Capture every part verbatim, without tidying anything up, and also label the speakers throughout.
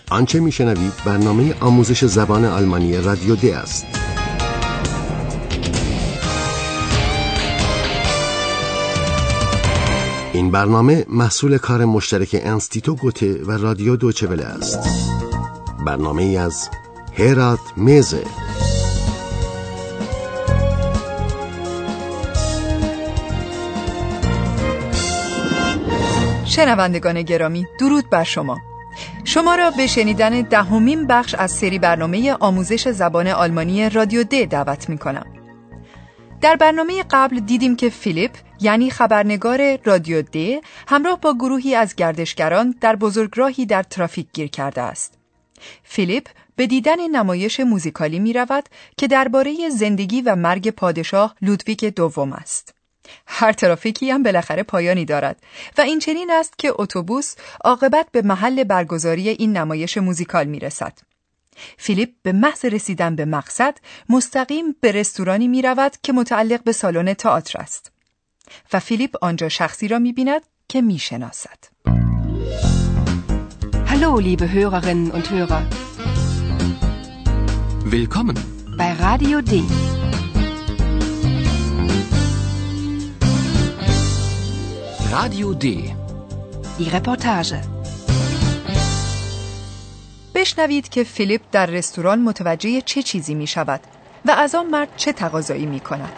Speaker 1: آنچه میشنوید برنامه آموزش زبان آلمانی رادیو د است. این برنامه محصول کار مشترک انستیتو گوته و رادیو دویچه وله است. برنامه ای از هرات میزه.
Speaker 2: شنوندگان گرامی، درود بر شما. شما را به شنیدن دهمین بخش از سری برنامه آموزش زبان آلمانی رادیو د دعوت می کنم. در برنامه قبل دیدیم که فیلیپ یعنی خبرنگار رادیو د همراه با گروهی از گردشگران در بزرگراهی در ترافیک گیر کرده است. فیلیپ به دیدن نمایش موزیکالی می رود که درباره زندگی و مرگ پادشاه لودویک دوم است. هر ترافیکی هم بالاخره پایانی دارد و این چنین است که اتوبوس عاقبت به محل برگزاری این نمایش موزیکال می رسد. فیلیپ به محض رسیدن به مقصد مستقیم به رستورانی می رود که متعلق به سالن تئاتر است و فیلیپ آنجا شخصی را می بیند که می شناسد.
Speaker 3: Hallo, liebe Hörerinnen und Hörer.
Speaker 4: Willkommen
Speaker 3: bei Radio D.
Speaker 4: Radio D.
Speaker 3: Die Reportage.
Speaker 2: بشنوید که فیلیپ در رستوران متوجه چه چیزی می شود و از آن مرد چه تقاضایی می کند.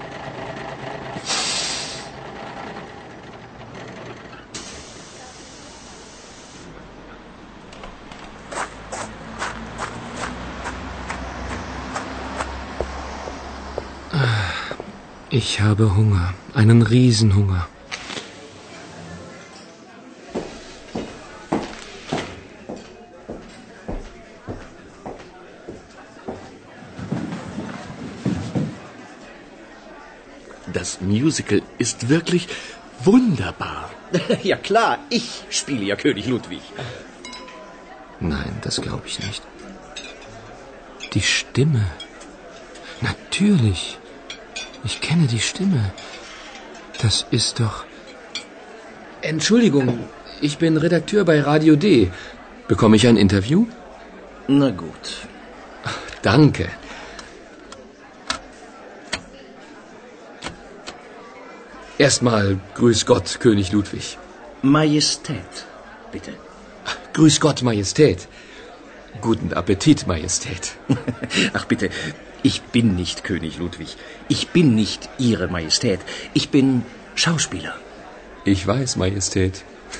Speaker 4: Ich habe Hunger, einen Riesenhunger.
Speaker 5: Das Musical ist wirklich wunderbar.
Speaker 6: Ja klar, ich spiele ja König Ludwig.
Speaker 4: Nein, das glaube ich nicht. Die Stimme. Natürlich. Ich kenne die Stimme. Das ist doch... Entschuldigung, ich bin Redakteur bei Radio D. Bekomme ich ein Interview?
Speaker 6: Na gut.
Speaker 4: Ach, danke. Erstmal Grüß Gott, König Ludwig.
Speaker 6: Majestät, bitte.
Speaker 4: Grüß Gott, Majestät. Guten Appetit, Majestät.
Speaker 6: Ach bitte, ich bin nicht König Ludwig. Ich bin nicht Ihre Majestät. Ich bin Schauspieler.
Speaker 4: Ich weiß, Majestät.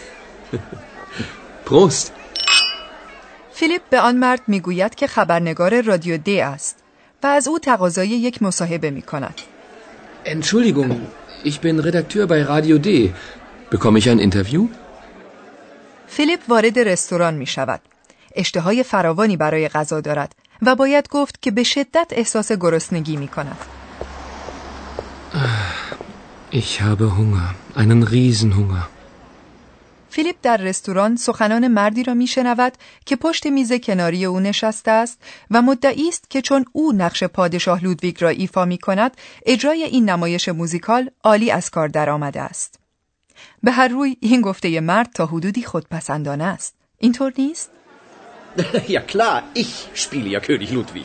Speaker 4: Prost.
Speaker 2: فیلیپ به آن مرد میگوید که خبرنگار رادیو د است و از او تقاضای یک مصاحبه میکند.
Speaker 4: Entschuldigung, ich bin Redakteur bei Radio D. Bekomme ich ein Interview?
Speaker 2: فیلیپ وارد رستوران می شود. اشتهای فراوانی برای غذا دارد و باید گفت که به شدت احساس گرسنگی می کند.
Speaker 4: Ich habe Hunger, einen Riesenhunger.
Speaker 2: فیلیپ در رستوران سخنان مردی را می شنود که پشت میز کناری او نشسته است و مدعی است که چون او نقش پادشاه لودویگ را ایفا می کند، اجرای این نمایش موزیکال عالی از کار در آمده است. به هر روی این گفته مرد تا حدودی خودپسندانه است. اینطور نیست؟
Speaker 6: Ja klar, ich spiele ja König Ludwig.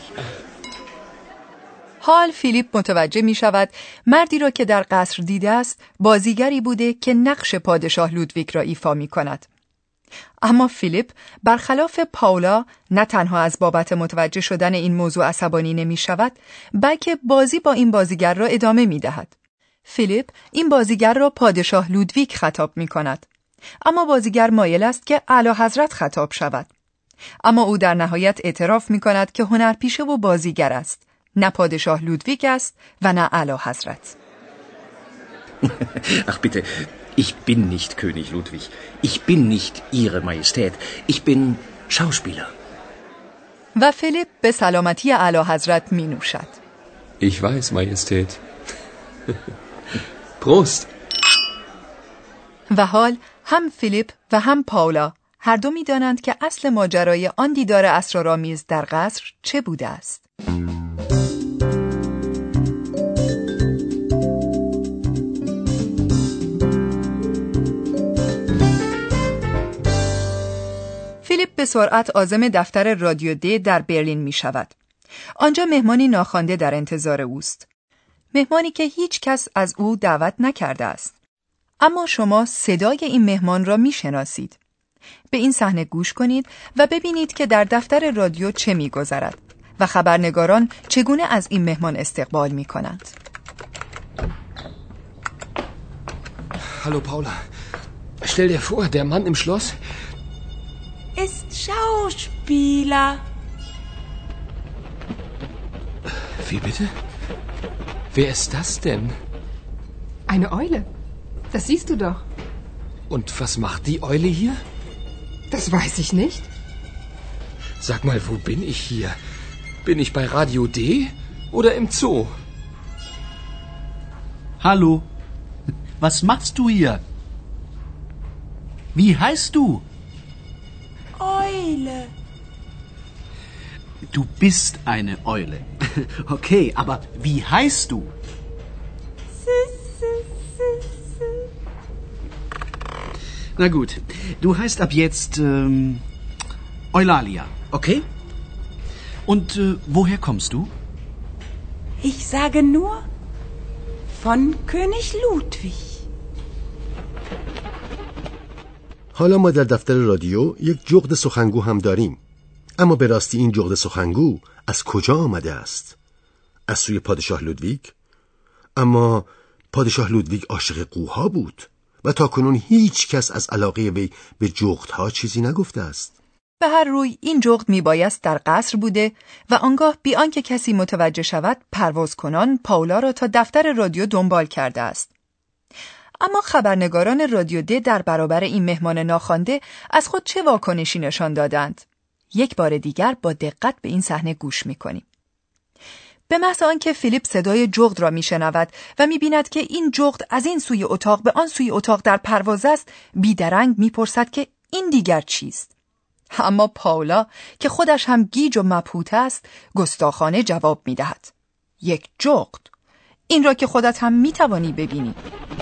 Speaker 2: حال فیلیپ متوجه می شود مردی را که در قصر دیده است بازیگری بوده که نقش پادشاه لودویگ را ایفا می کند. اما فیلیپ برخلاف پاولا نه تنها از بابت متوجه شدن این موضوع عصبانی نمی شود، بلکه بازی با این بازیگر را ادامه می دهد. فیلیپ این بازیگر را پادشاه لودویگ خطاب می کند، اما بازیگر مایل است که اعلیحضرت خطاب شود. اما او در نهایت اعتراف می کند که هنرپیشه و بازیگر است، نه پادشاه لودویگ است و نه اعلیحضرت.
Speaker 6: Ach bitte, ich bin nicht König Ludwig. Ich bin nicht Ihre Majestät. Ich bin Schauspieler.
Speaker 2: و فیلیپ به سلامتی اعلیحضرت می نوشد.
Speaker 4: Ich weiß, Majestät. Prost.
Speaker 2: و حال هم فیلیپ و هم پاولا هر دو می دانند که اصل ماجرای آن دیدار اسرارآمیز در قصر چه بوده است. فیلیپ به سرعت عازم دفتر رادیو دی در برلین می شود. آنجا مهمانی ناخوانده در انتظار اوست. مهمانی که هیچ کس از او دعوت نکرده است. اما شما صدای این مهمان را می شناسید. به این صحنه گوش کنید و ببینید که در دفتر رادیو چه می گذرد و خبرنگاران چگونه از این مهمان استقبال می کنند.
Speaker 4: Hallo Paula. Stell dir vor, der Mann im Schloss
Speaker 7: ist Schauspieler.
Speaker 4: Wie bitte? Wer ist das denn?
Speaker 3: Eine Eule. Das siehst du doch.
Speaker 4: Und was macht die Eule hier?
Speaker 3: Das weiß ich nicht.
Speaker 4: Sag mal, wo bin ich hier? Bin ich bei Radio D oder im Zoo?
Speaker 8: Hallo. Was machst du hier? Wie heißt du?
Speaker 7: Eule.
Speaker 8: Du bist eine Eule. Okay, aber wie heißt du? Na gut, du heißt ab jetzt ähm, Eulalia, okay? Und äh, woher kommst du?
Speaker 7: Ich sage nur von König Ludwig.
Speaker 1: حالا ما در دفتر رادیو یک جغد سخنگو هم داریم. اما به راستی این جغد سخنگو از کجا آمده است؟ از سوی پادشاه لودویگ؟ اما پادشاه لودویگ عاشق قوها بود و تاکنون هیچ کس از علاقه وی به جغدها چیزی نگفته است.
Speaker 2: به هر روی این جغد میبایست در قصر بوده و آنگاه بی آنکه کسی متوجه شود پرواز کنان پاولا را تا دفتر رادیو دنبال کرده است. اما خبرنگاران رادیو د در برابر این مهمان ناخوانده از خود چه واکنشی نشان دادند؟ یک بار دیگر با دقت به این صحنه گوش می‌کنیم. به محض آنکه فیلیپ صدای جغد را میشنود و میبیند که این جغد از این سوی اتاق به آن سوی اتاق در پرواز است، بیدرنگ میپرسد که این دیگر چیست؟ اما پاولا که خودش هم گیج و مبهوت است، گستاخانه جواب میدهد: یک جغد. این را که خودت هم میتوانی ببینی.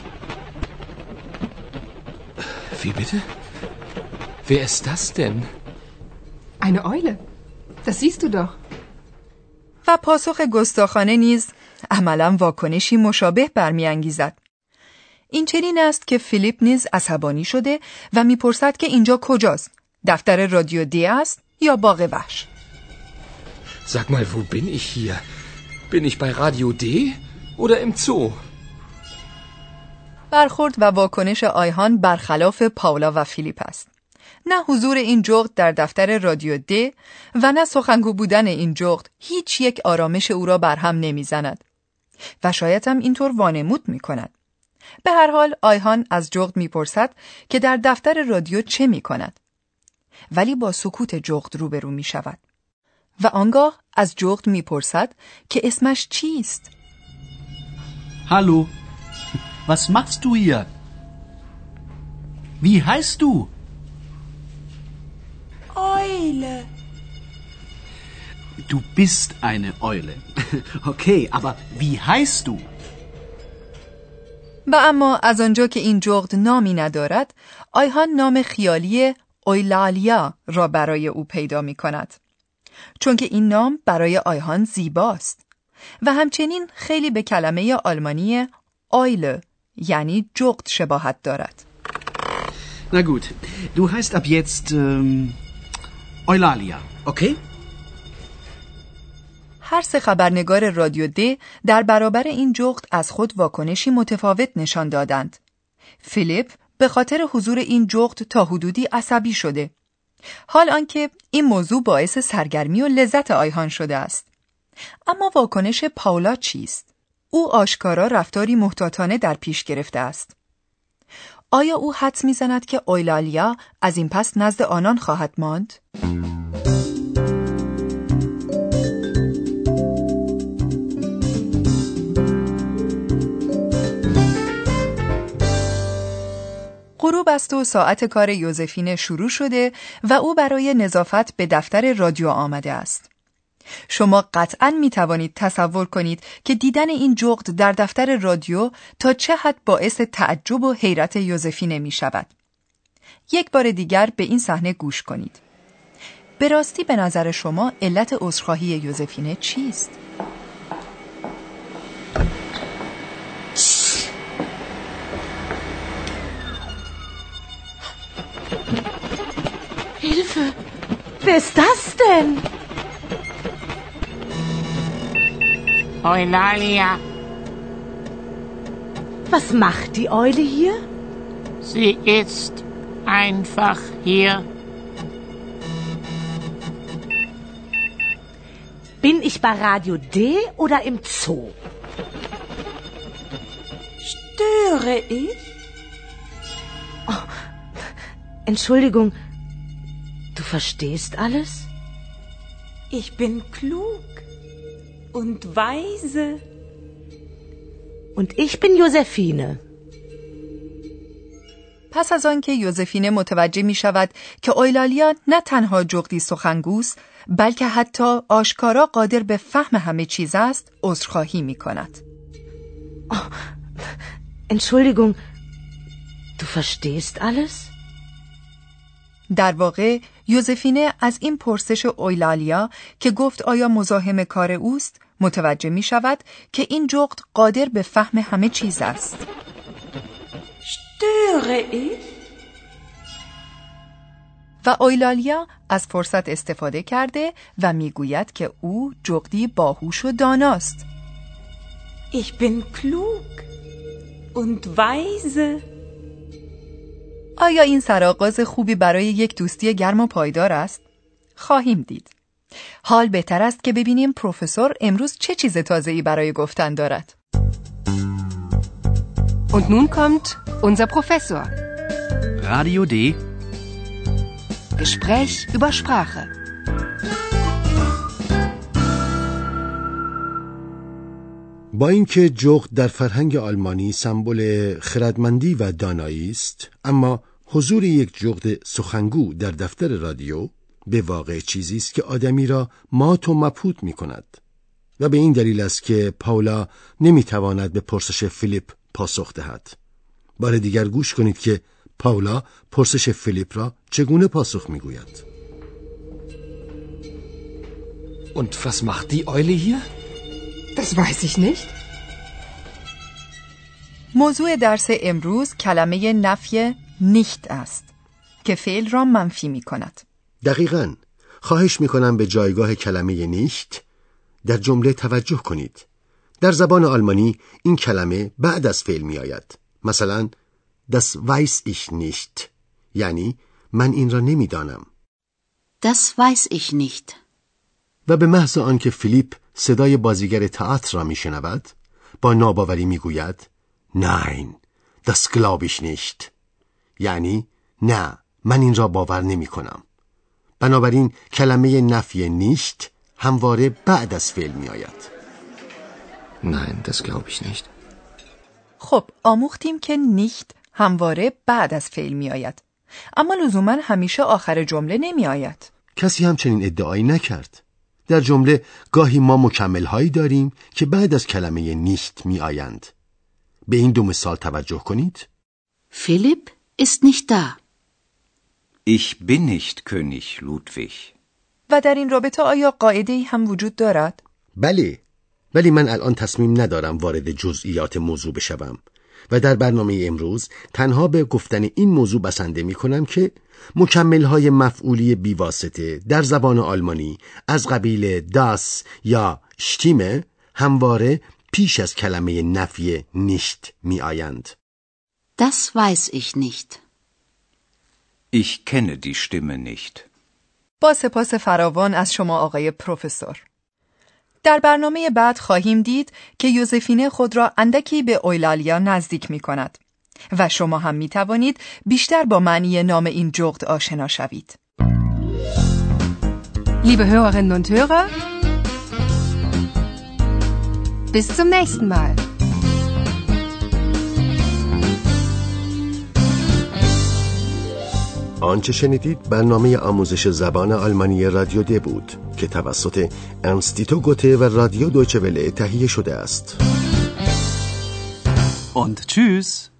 Speaker 4: Wie bitte? Wer ist das denn?
Speaker 3: Eine Eule. Das siehst du doch.
Speaker 2: و پاسخ گستاخانه نیز عملاً واکنشی مشابه برمی‌انگیزد. این چنین است که فیلیپ نیز عصبانی شده و میپرسد که اینجا کجاست؟ دفتر رادیو دی است یا باغ وحش؟
Speaker 4: Sag mal, wo bin ich hier? Bin ich bei Radio D oder im Zoo?
Speaker 2: برخورد و واکنش آیهان برخلاف پاولا و فیلیپ است. نه حضور این جغد در دفتر رادیو د و نه سخنگو بودن این جغد هیچ یک آرامش او را برهم نمیزند و شاید هم اینطور وانمود میکند. به هر حال آیهان از جغد میپرسد که در دفتر رادیو چه میکند، ولی با سکوت جغد روبرو میشود و آنگاه از جغد میپرسد که اسمش چیست؟
Speaker 8: Hallo. Was machst du hier? Wie heißt du?
Speaker 7: Eule.
Speaker 8: Du bist eine Eule. Okay, aber wie heißt du?
Speaker 2: و اما از آنجا که این جغد نامی ندارد، آیهان نام خیالی اویلالیا را برای او پیدا می کند. چون که این نام برای آیهان زیباست و همچنین خیلی به کلمه آلمانی آیله یعنی جغد شباهت دارد.
Speaker 8: Na gut, du heißt ab jetzt ähm, Eulalia, okay?
Speaker 2: هر سه خبرنگار رادیو د در برابر این جغد از خود واکنشی متفاوت نشان دادند. فیلیپ به خاطر حضور این جغد تا حدودی عصبی شده، حال آنکه این موضوع باعث سرگرمی و لذت آیهان شده است. اما واکنش پاولا چیست؟ او آشکارا رفتاری محتاطانه در پیش گرفته است. آیا او حدس می‌زند که اویلالیا از این پس نزد آنان خواهد ماند؟ غروب است و ساعت کار یوزفین شروع شده و او برای نظافت به دفتر رادیو آمده است. شما قطعاً می توانید تصور کنید که دیدن این جغد در دفتر رادیو تا چه حد باعث تعجب و حیرت یوزفینه می شود. یک بار دیگر به این صحنه گوش کنید. به راستی به نظر شما علت عذرخواهی یوزفینه چیست؟
Speaker 9: Hilfe! Wer ist das denn?
Speaker 10: Eulalia.
Speaker 9: Was macht die Eule hier?
Speaker 10: Sie ist einfach hier.
Speaker 9: Bin ich bei Radio D oder im Zoo?
Speaker 7: Störe ich?
Speaker 9: Oh, Entschuldigung, du verstehst alles?
Speaker 7: Ich bin klug und weise.
Speaker 9: Und ich bin Josephine.
Speaker 2: پس از آنکه یوزفینه متوجه می شود که اویلالیا نه تنها جغدی سخنگوست بلکه حتی آشکارا قادر به فهم همه چیز است، عذرخواهی می کند.
Speaker 9: Oh, Entschuldigung, du verstehst alles?
Speaker 2: در واقع یوزفینه از این پرسش اویلالیا که گفت آیا مزاحم کار اوست متوجه می شود که این جغد قادر به فهم همه چیز است.
Speaker 7: Störe ich?
Speaker 2: و اویلالیا از فرصت استفاده کرده و میگوید که او جغدی باهوش و داناست.
Speaker 7: Ich bin klug und weise.
Speaker 2: آیا این سرآغاز خوبی برای یک دوستی گرم و پایدار است؟ خواهیم دید. حال بهتر است که ببینیم پروفسور امروز چه چیز تازه‌ای برای گفتن دارد.
Speaker 3: Und nun kommt unser Professor.
Speaker 8: Radio D.
Speaker 3: Gespräch über Sprache.
Speaker 1: با اینکه جغد در فرهنگ آلمانی سمبل خردمندی و دانایی است، اما حضور یک جغد سخنگو در دفتر رادیو به واقع چیزی است که آدمی را مات و مبهوت می کند و به این دلیل است که پاولا نمی تواند به پرسش فیلیپ پاسخ دهد. بار دیگر گوش کنید که پاولا پرسش فیلیپ را چگونه پاسخ می گوید.
Speaker 4: Und was macht die Eule hier?
Speaker 3: Das weiß ich nicht.
Speaker 2: موضوع درس امروز کلمه نفی nicht است که فعل را منفی می کند.
Speaker 1: دقیقاً. خواهش می کنم به جایگاه کلمه nicht در جمله توجه کنید. در زبان آلمانی این کلمه بعد از فعل می آید. مثلا das weiß ich nicht، یعنی من این را نمی دانم.
Speaker 11: Das weiß ich nicht.
Speaker 1: و به محض آنکه فیلیپ صدای بازیگر تئاتر را می شنود با ناباوری می گوید Nein, das glaube ich nicht، یعنی نه، من این را باور نمی کنم. بنابراین کلمه نفی nicht همواره بعد از فعل می آید.
Speaker 4: Nein, das glaube ich nicht.
Speaker 2: خب آموختیم که nicht همواره بعد از فعل می آید، اما لزوما همیشه آخر جمله نمی آید.
Speaker 1: کسی همچنین ادعایی نکرد. در جمله گاهی ما مکمل هایی داریم که بعد از کلمه nicht می آیند. به این دو مثال توجه کنید.
Speaker 11: Philipp ist nicht da.
Speaker 6: Ich bin nicht König Ludwig.
Speaker 2: و در این رابطه آیا قاعده‌ای هم وجود دارد؟
Speaker 1: بله، ولی من الان تصمیم ندارم وارد جزئیات موضوع بشوم و در برنامه امروز تنها به گفتن این موضوع بسنده می کنم که مکمل‌های مفعولی بیواسطه در زبان آلمانی از قبیل das یا stimme همواره پیش از کلمه نفی nicht می آیند.
Speaker 11: Das weiß ich nicht.
Speaker 6: Ich kenne die Stimme nicht.
Speaker 2: با سپاس فراوان از شما آقای پروفسور. در برنامه بعد خواهیم دید که یوزفینه خود را اندکی به اویلالیا نزدیک می کند و شما هم می توانید بیشتر با معنی نام این جغد آشنا شوید.
Speaker 3: Liebe Hörerinnen und Hörer, bis zum nächsten Mal.
Speaker 1: آنچه شنیدید برنامه آموزش زبان آلمانی رادیو د بود که توسط انستیتو گوته و رادیو دویچه وله تهیه شده است.
Speaker 8: Und tschüss.